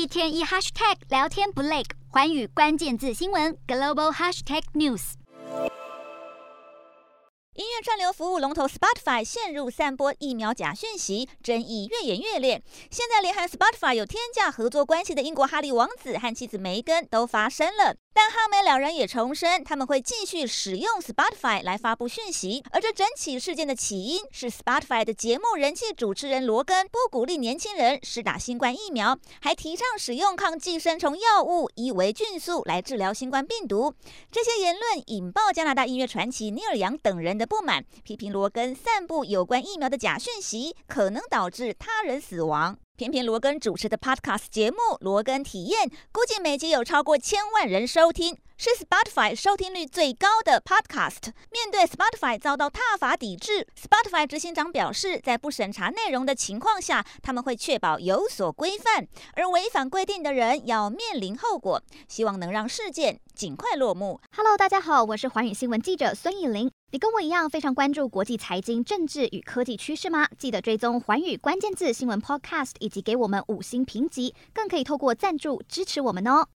天一 hashtag 聊天不累，寰宇關鍵字新聞 Global Hashtag News。 音樂串流服務龍頭 Spotify 陷入散播疫苗假訊息，爭議越演越烈。現在連和 Spotify 有天價合作關係的英國哈利王子和妻子梅根都發聲了。但哈梅兩人也重申，他們會繼續使用 Spotify 來發布訊息。而這整起事件的起因是 Spotify 的節目人氣主持人羅根不鼓勵年輕人施打新冠疫苗，還提倡使用抗寄生蟲藥物伊維菌素來治療新冠病毒。這些言論引爆加拿大音樂傳奇尼爾楊等人的不滿，批評羅根散布有關疫苗的假訊息，可能導致他人死亡。偏偏羅根主持的 Podcast 節目《羅根體驗》，估計每集有超過1000萬人收聽，是 Spotify 收聽率最高的 Podcast。面對 Spotify 遭到撻伐抵制， Spotify 執行長表示，在不審查內容的情況下，他們會確保有所規範，而違反規定的人要面臨後果。希望能讓事件盡快落幕。 Hello， 大家好，我是寰宇新聞記者孫藝玲。你跟我一樣非常關注國際財經、政治與科技趨勢嗎？記得追蹤寰宇關鍵字新聞 Podcast， 以及給我們5星評級，更可以透過贊助支持我們哦。